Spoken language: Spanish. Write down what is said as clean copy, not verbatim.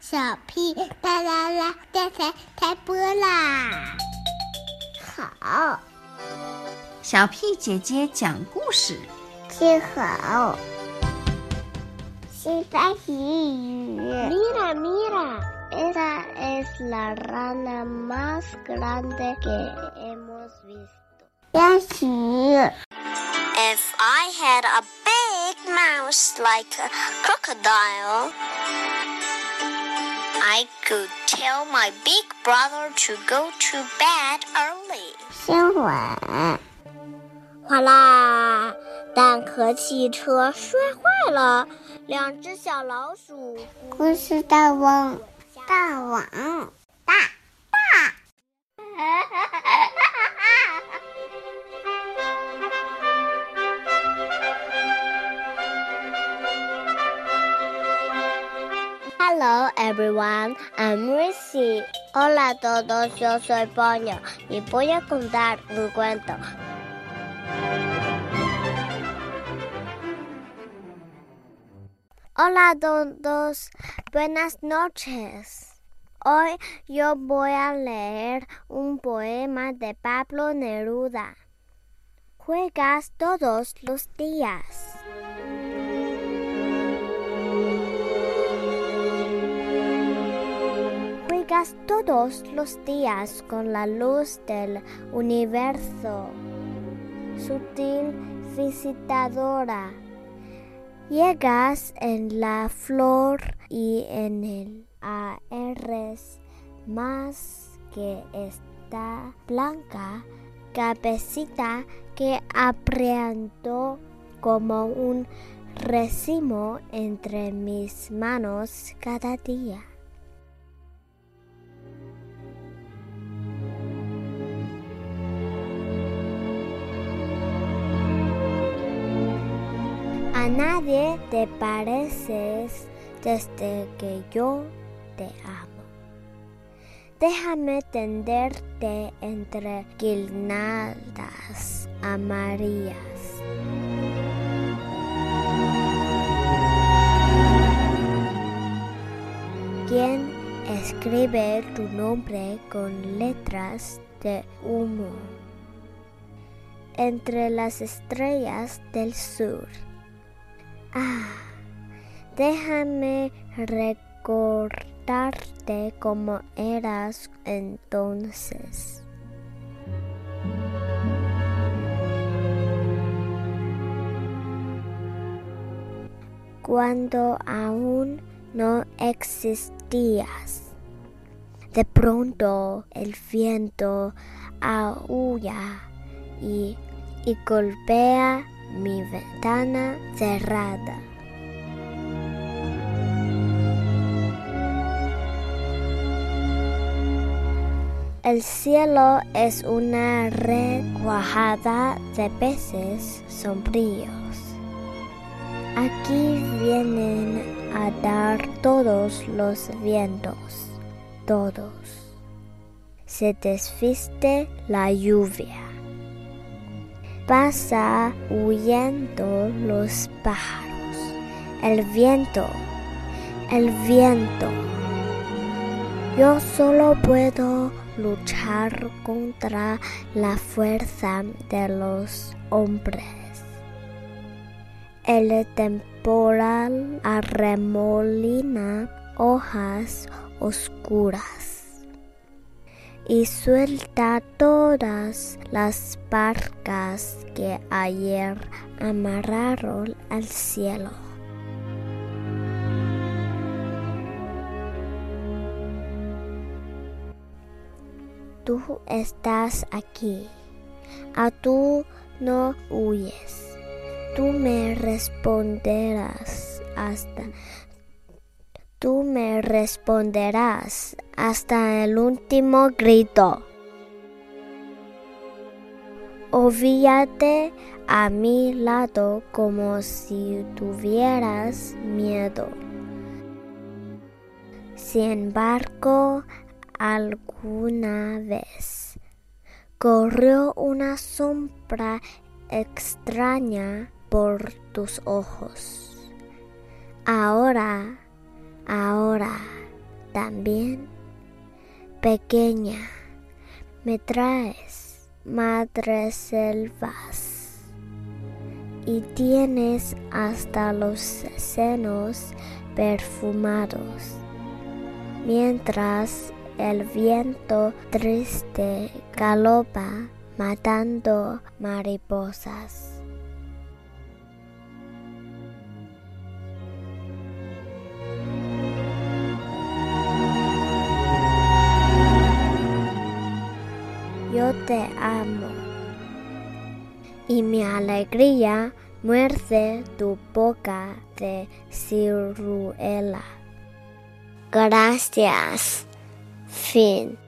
小屁哒啦啦，电台开播啦！好， 小屁姐姐讲故事。 听好，西班牙语。Mira, mira, esa es la rana más grande que hemos visto. 练习。 If I had a big mouse like a crocodile, I could tell my big brother to go to bed early. 新闻。哗啦！蛋壳汽车摔坏了，2只小老鼠。故事大王，大王，大。Hello everyone, I'm Ricky. Hola a todos, yo soy Ponyo y voy a contar un cuento. Hola a todos, buenas noches. Hoy yo voy a leer un poema de Pablo Neruda. Juegas todos los días. Juegas todos los días con la luz del universo, sutil visitadora. Llegas en la flor y en el eres más que esta blanca cabecita que aprieto como un racimo entre mis manos cada día. A nadie te pareces desde que yo te amo. Déjame tenderte entre guirnaldas amarillas. ¿Quién escribe tu nombre con letras de humo entre las estrellas del sur? Déjame recordarte como eras entonces. Cuando aún no existías. De pronto el viento aúlla y golpea mi ventana cerrada. El cielo es una red cuajada de peces sombríos. Aquí vienen a dar todos los vientos, todos. Se desviste la lluvia. Pasa huyendo los pájaros. El viento. Yo solo puedo luchar contra la fuerza de los hombres. El temporal arremolina hojas oscuras y suelta todas las barcas que ayer amarraron al cielo. Tú estás aquí. Tú no huyes. Tú me responderás hasta el último grito. Olvídate a mi lado como si tuvieras miedo. Sin embargo, alguna vez corrió una sombra extraña por tus ojos. Ahora también. Pequeña, me traes madres selvas y tienes hasta los senos perfumados, mientras el viento triste galopa matando mariposas. Yo te amo y mi alegría muerde tu boca de ciruela. Gracias. Fin.